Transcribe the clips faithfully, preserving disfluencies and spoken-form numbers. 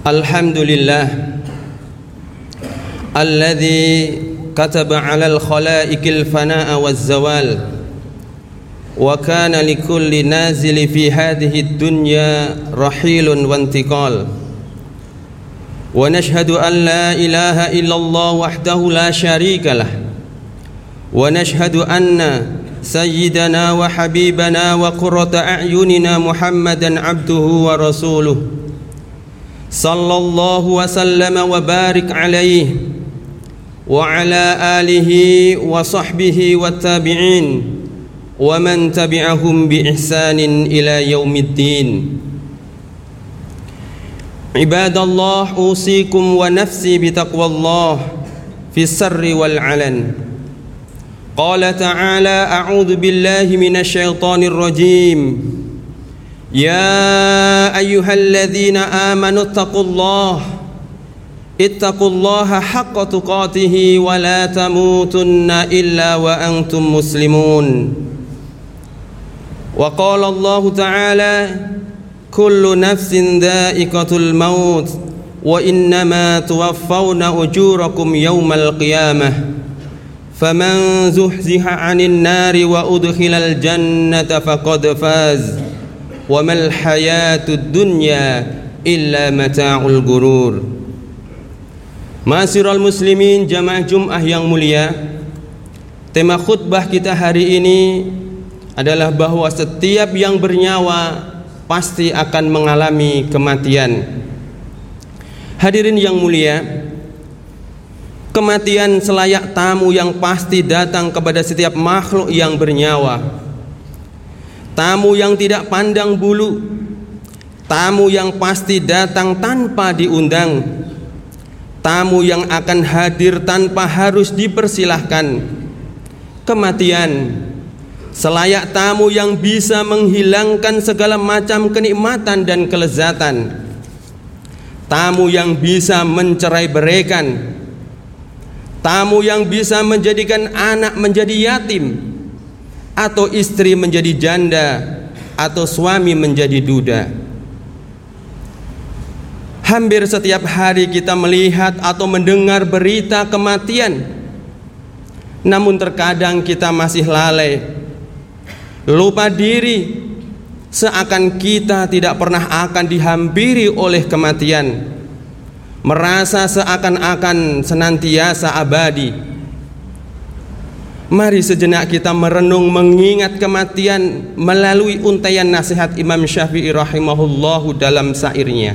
Alhamdulillah alladzi kataba 'alal khalaiqil fanaa'a waz-zawal wa kana likulli nazili fi hadhihi ad-dunya rahilun wa intiqal wa nashhadu an la ilaha illallah wahdahu la syarika lah wa nashhadu anna sayyidana wa habibana wa qurrata a'yunina Muhammadan abduhu wa rasuluh sallallahu wa sallama wa barik alaihi wa ala alihi wa sahbihi wa tabi'in wa man tabi'ahum bi ihsanin ila yaumiddin. Ibadallah, usikum wa nafsi bi taqwallah fi sirri wal alan. Qala ta'ala a'udzu billahi minasy syaithanir rajim. Ya ayyuhalladzina amanu taqullaha ittaqullaha haqqa tuqatih wa la tamutunna illa wa antum muslimun. Wa qala Allah ta'ala kullu nafsin dha'iqatul maut wa innama tuwaffawna ujurakum yawmal qiyamah faman zuhziha 'anil nari wa udkhilal jannata faqad faz wa mal hayatud dunya illa mata'ul gurur. Ma'asyiral muslimin, jamaah Jumat yang mulia, tema khutbah kita hari ini adalah bahwa setiap yang bernyawa pasti akan mengalami kematian. Hadirin yang mulia, kematian selayak tamu yang pasti datang kepada setiap makhluk yang bernyawa. Tamu yang tidak pandang bulu, tamu yang pasti datang tanpa diundang, tamu yang akan hadir tanpa harus dipersilahkan. Kematian selayak tamu yang bisa menghilangkan segala macam kenikmatan dan kelezatan, tamu yang bisa mencerai-beraikan, tamu yang bisa menjadikan anak menjadi yatim, atau istri menjadi janda, atau suami menjadi duda. Hampir setiap hari kita melihat atau mendengar berita kematian. Namun terkadang kita masih lalai, lupa diri, seakan kita tidak pernah akan dihampiri oleh kematian, merasa seakan-akan senantiasa abadi. Mari sejenak kita merenung mengingat kematian melalui untaian nasihat Imam Syafi'i rahimahullahu dalam syairnya.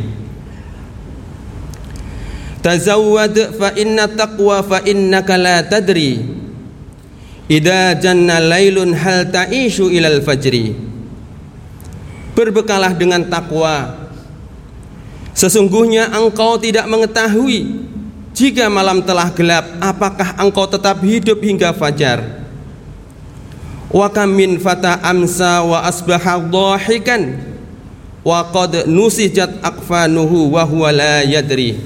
Tazawwad fa inna taqwa fa innaka la tadri idza janna lailun hal ta'ishu ilal fajri. Berbekalah dengan takwa, sesungguhnya engkau tidak mengetahui jika malam telah gelap, apakah engkau tetap hidup hingga fajar. Wa kam min fata amsa wa asbaha dhahikan wa qad nusijat akfanuhu wa huwa la yadri.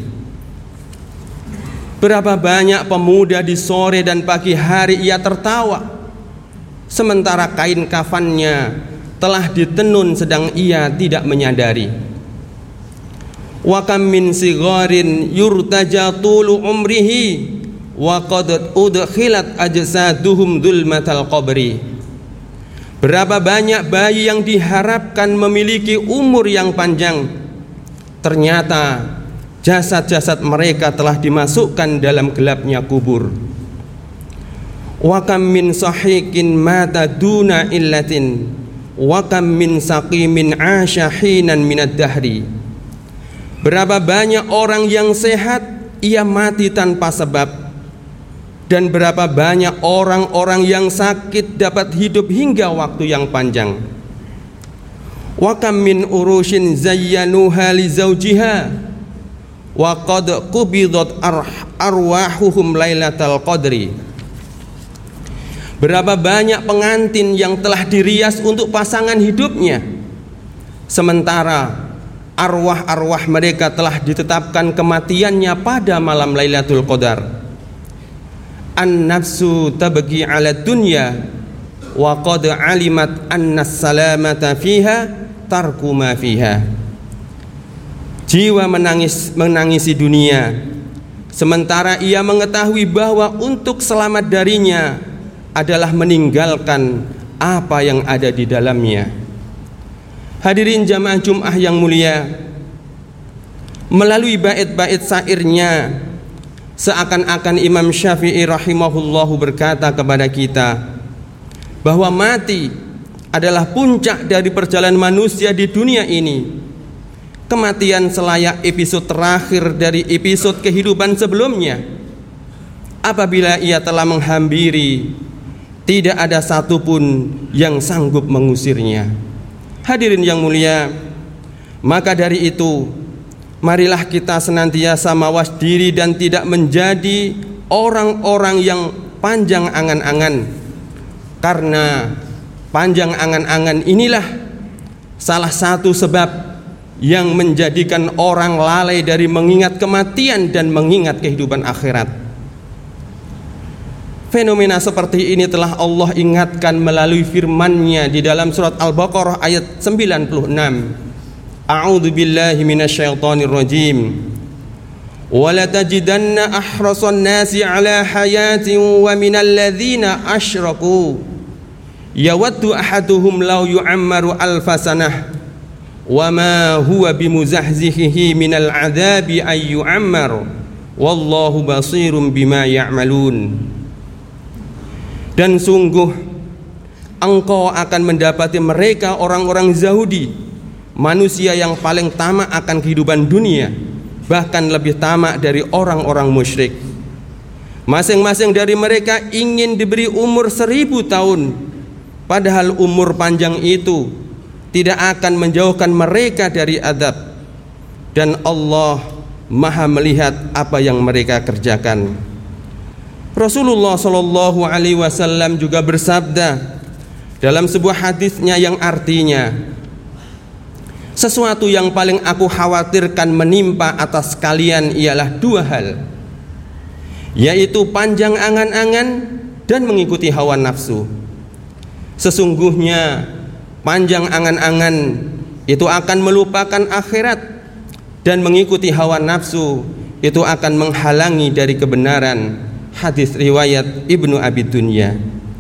Berapa banyak pemuda di sore dan pagi hari ia tertawa, sementara kain kafannya telah ditenun sedang ia tidak menyadari. Wa kam min sigharin yurtaja tulu umrihi wa qad udkhilat ajsaduhum dzulmatal qabri. Berapa banyak bayi yang diharapkan memiliki umur yang panjang, ternyata jasad-jasad mereka telah dimasukkan dalam gelapnya kubur. Wa kam min sahiqin mata duna illatin wa kam min saqimin 'asha hinan minad dahri. Berapa banyak orang yang sehat ia mati tanpa sebab, dan berapa banyak orang-orang yang sakit dapat hidup hingga waktu yang panjang. Wa kam min urushin zayyanuha li zawjiha wa qad qubidat arwahuhum lailatal qadri. Berapa banyak pengantin yang telah dirias untuk pasangan hidupnya, sementara arwah-arwah mereka telah ditetapkan kematiannya pada malam Lailatul Qadar. An-nafsu tabghi 'ala dunya wa qad 'alimat anna salamata fiha tarku ma fiha. Jiwa menangis menangisi dunia, sementara ia mengetahui bahwa untuk selamat darinya adalah meninggalkan apa yang ada di dalamnya. Hadirin jamaah Jumat yang mulia, melalui bait-bait syairnya seakan-akan Imam Syafi'i rahimahullahu berkata kepada kita bahwa mati adalah puncak dari perjalanan manusia di dunia ini. Kematian selayak episode terakhir dari episode kehidupan sebelumnya. Apabila ia telah menghampiri, tidak ada satupun yang sanggup mengusirnya. Hadirin yang mulia, maka dari itu marilah kita senantiasa mawas diri dan tidak menjadi orang-orang yang panjang angan-angan, karena panjang angan-angan inilah salah satu sebab yang menjadikan orang lalai dari mengingat kematian dan mengingat kehidupan akhirat. Fenomena seperti ini telah Allah ingatkan melalui firman-Nya di dalam surat Al-Baqarah ayat sembilan puluh enam. A'udzu billahi minasyaitonir rajim. Wa la tajidanna ahrasan nasi 'ala hayatin wa minal ladzina asyraku yawaddu ahaduhum law yu'ammaru alfa sanah wa ma huwa bimuzahzihihi minal 'adzabi ay yu'ammar wallahu basirum bima ya'malun. Dan sungguh engkau akan mendapati mereka orang-orang Yahudi, manusia yang paling tamak akan kehidupan dunia, bahkan lebih tamak dari orang-orang musyrik. Masing-masing dari mereka ingin diberi umur seribu tahun, padahal umur panjang itu tidak akan menjauhkan mereka dari azab, dan Allah Maha melihat apa yang mereka kerjakan. Rasulullah Shallallahu Alaihi Wasallam juga bersabda dalam sebuah hadisnya yang artinya, sesuatu yang paling aku khawatirkan menimpa atas kalian ialah dua hal, yaitu panjang angan-angan dan mengikuti hawa nafsu. Sesungguhnya panjang angan-angan itu akan melupakan akhirat, dan mengikuti hawa nafsu itu akan menghalangi dari kebenaran. Hadis riwayat Ibnu Abi Dunya.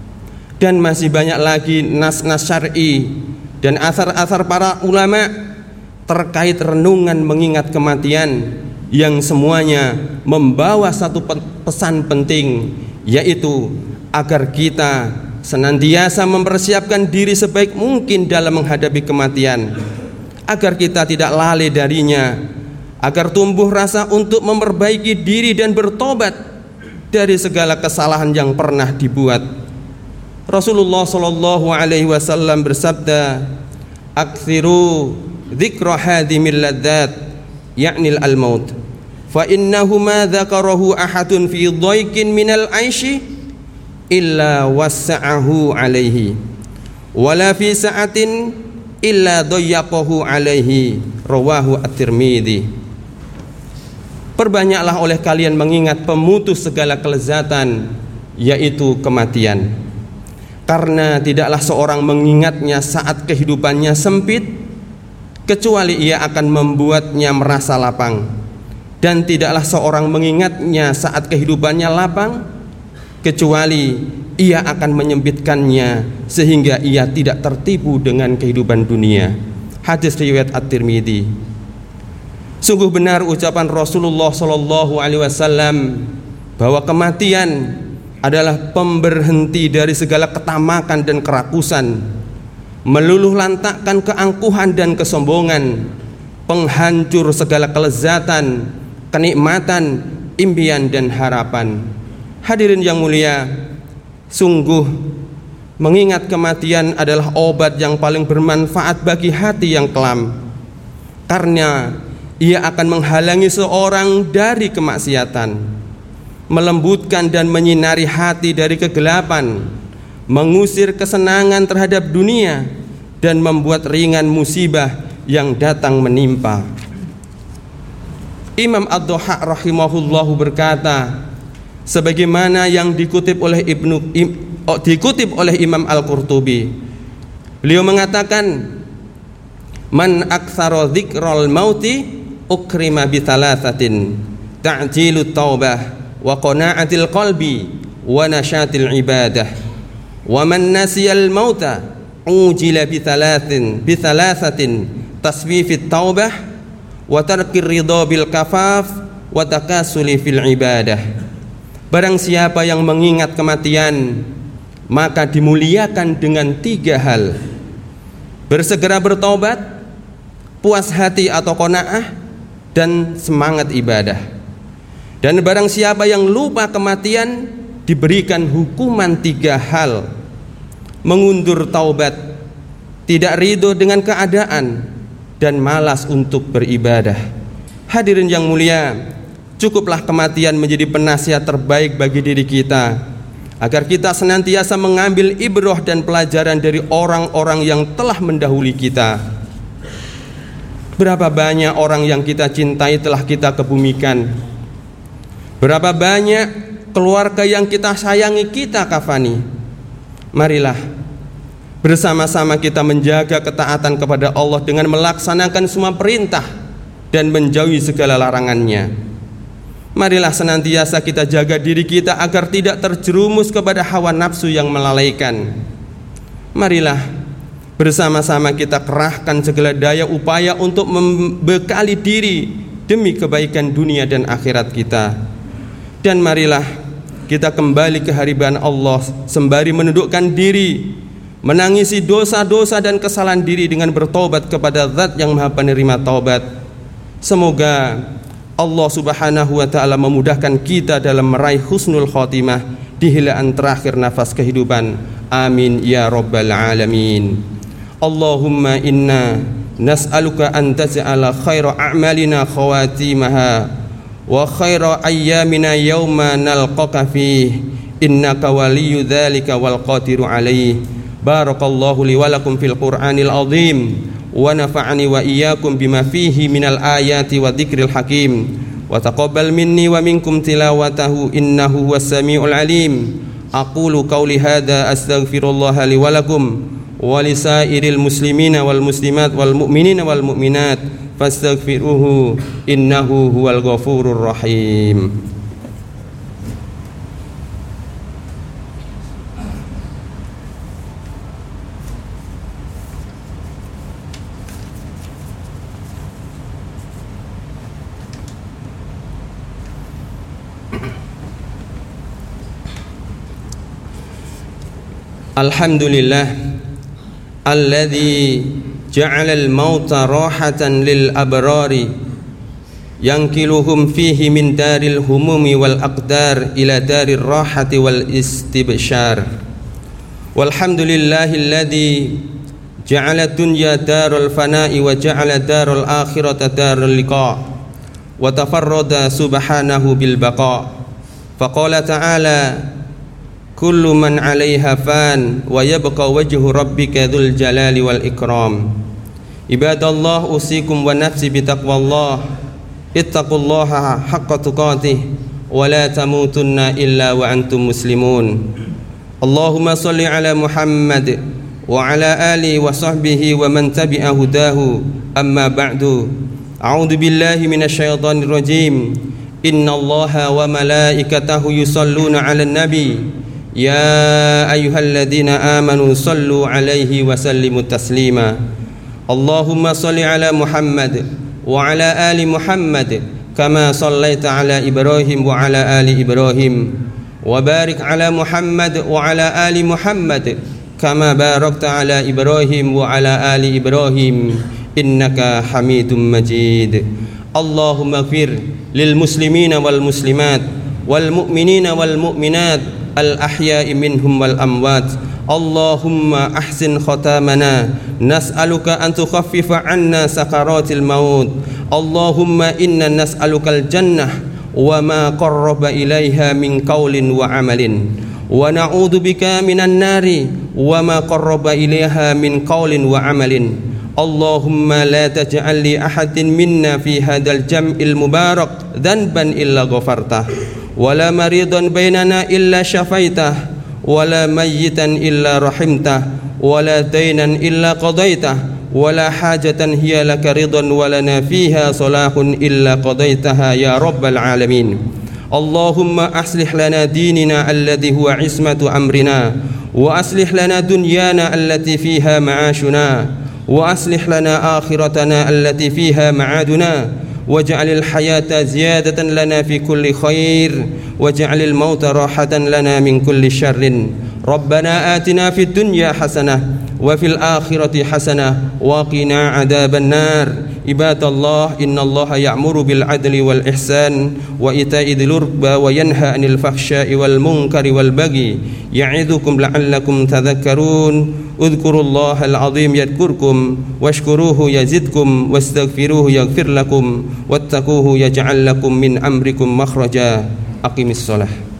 Dan masih banyak lagi nas-nas syar'i dan asar-asar para ulama terkait renungan mengingat kematian, yang semuanya membawa satu pesan penting, yaitu agar kita senantiasa mempersiapkan diri sebaik mungkin dalam menghadapi kematian, agar kita tidak lalai darinya, agar tumbuh rasa untuk memperbaiki diri dan bertobat dari segala kesalahan yang pernah dibuat. Rasulullah Shallallahu Alaihi Wasallam bersabda, "Aktsiru dzikra hadimil ladzat, yaknil al-maut, fa innahu ma dzakarahu ahadun fi dhaiqin minal aishi illa wassa'ahu alaihi, wala fi sa'atin illa dhayyaqahu alaihi." Rawahu at-Tirmidzi. Perbanyaklah oleh kalian mengingat pemutus segala kelezatan, yaitu kematian, karena tidaklah seorang mengingatnya saat kehidupannya sempit kecuali ia akan membuatnya merasa lapang, dan tidaklah seorang mengingatnya saat kehidupannya lapang kecuali ia akan menyempitkannya sehingga ia tidak tertipu dengan kehidupan dunia. Hadis riwayat At-Tirmidzi. Sungguh benar ucapan Rasulullah Shallallahu Alaihi Wasallam bahwa kematian adalah pemberhenti dari segala ketamakan dan kerakusan, meluluh lantakkan keangkuhan dan kesombongan, penghancur segala kelezatan, kenikmatan, impian dan harapan. Hadirin yang mulia, sungguh mengingat kematian adalah obat yang paling bermanfaat bagi hati yang kelam, karena ia akan menghalangi seorang dari kemaksiatan, melembutkan dan menyinari hati dari kegelapan, mengusir kesenangan terhadap dunia, dan membuat ringan musibah yang datang menimpa. Imam Ad-Dhahhak rahimahullahu berkata, sebagaimana yang dikutip oleh Ibnu oh, dikutip oleh Imam Al-Qurtubi, beliau mengatakan, man aktsara dzikral mauti ukrima bi thalathatin ta'jilut taubah wa qana'atil qalbi wa nashatil ibadah wa man nasiyal mauta ujila bi thalathin bi thalathatin taswifit taubah wa tarkir ridha bil kafaf wa takasuli fil ibadah. Barang siapa yang mengingat kematian, maka dimuliakan dengan tiga hal: bersegera bertaubat, puas hati atau qanaah, dan semangat ibadah. Dan barang siapa yang lupa kematian, diberikan hukuman tiga hal: mengundur taubat, tidak ridho dengan keadaan, dan malas untuk beribadah. Hadirin yang mulia, cukuplah kematian menjadi penasihat terbaik bagi diri kita, agar kita senantiasa mengambil ibrah dan pelajaran dari orang-orang yang telah mendahului kita. Berapa banyak orang yang kita cintai telah kita kebumikan. Berapa banyak keluarga yang kita sayangi kita kafani. Marilah bersama-sama kita menjaga ketaatan kepada Allah dengan melaksanakan semua perintah dan menjauhi segala larangannya. Marilah senantiasa kita jaga diri kita agar tidak terjerumus kepada hawa nafsu yang melalaikan. Marilah bersama-sama kita kerahkan segala daya upaya untuk membekali diri demi kebaikan dunia dan akhirat kita. Dan marilah kita kembali ke hadirat Allah sembari menundukkan diri, menangisi dosa-dosa dan kesalahan diri dengan bertobat kepada Zat yang Maha Penerima taubat. Semoga Allah Subhanahu wa taala memudahkan kita dalam meraih husnul khotimah di hilaan terakhir nafas kehidupan. Amin ya rabbal alamin. Allahumma inna nas'aluka an taj'ala khaira a'malina khawatimaha wa khaira ayyamina yawma nalqaka fih, innaka waliyyu dzalika wal qadiru alaih. Barakallahu li wa lakum fil Qur'anil azim wa nafa'ani wa iyyakum bima fihi minal ayati wa dzikril hakim wa taqabbal minni wa minkum tilawatahu innahu huwas samiul alim. Aqulu qawli hadza astaghfirullaha li wa lakum wa lisairil muslimina wal muslimat wal mu'minina wal mu'minat fastaghfiruhu innahu huwal ghafurur rahim. Alhamdulillah alladzi ja'ala al-mauta rahatan lil abrari yankiluhum fihi min daril humumi wal aqdar ila darir rahati wal istibshar. Walhamdulillahi alladzi ja'ala dunya darul fana'i wa ja'ala darul akhirata darul liqa' wa tafarrada subhanahu bil baqa'. Faqala ta'ala kullu man 'alaiha fan wa yabqa wajhu rabbika dzul jalali wal ikram. Ibadallah, usikum wa nafsi bitaqwallah. Ittaqullaha haqqa tuqatih wa la tamutunna illa wa antum muslimun. Allahumma shalli ala Muhammad wa ala alihi wa sahbihi wa man tabi'a hudahu. Amma ba'du. A'udzu billahi minasy syaithanir rajim. Innallaha wa malaikatahu yusholluna 'alan nabi. Ya ayyuhalladzina amanu sallu alaihi wa sallimu taslima. Allahumma salli ala Muhammad wa ala ali Muhammad kama sallaita ala Ibrahim wa ala ali Ibrahim wa barik ala Muhammad wa ala ali Muhammad kama barakta ala Ibrahim wa ala ali Ibrahim innaka Hamidum Majid. Allahumma ighfir lil muslimina wal muslimat wal mu'minina wal mu'minat al-ahya'i minhum wal amwat. Allahumma ahsin khatamana, nas'aluka an tukhaffifa 'anna sakaratil maut. Allahumma inna nas'alukal jannah wa ma qarraba ilaiha min qaulin wa amalin, wa na'udzu bika minan nari wa ma qarraba ilaiha min qaulin wa amalin. Allahumma la taj'al li ahadin minna fi hadzal jam'il mubarak dhanban illa ghafartah, wala maridan bainana illa syafaitah, wala mayyitan illa rahimtah, wala dainan illa qadaitah, ولا حاجة هي لك رضا ولنا فيها صلاح إلا قضيتها يا رب العالمين اللهم أصلح لنا ديننا الذي هو عصمة أمرنا وأصلح لنا دنيانا التي فيها معاشنا وأصلح لنا آخرتنا التي فيها معادنا واجعل الحياة زيادة لنا في كل خير واجعل الموت راحة لنا من كل شر ربنا آتنا في الدنيا حسنة وفي الآخرة حسنة وقنا عذاب النار عباد الله إن الله يأمر بالعدل والإحسان وإيتاء ذي القربى وينهى عن الفحشاء والمنكر والبغي يعظكم لعلكم تذكرون اذكروا الله العظيم يذكركم واشكروه يزدكم واستغفروه يغفر لكم واتقوه يجعل لكم من أمركم مخرجا أقم الصلاة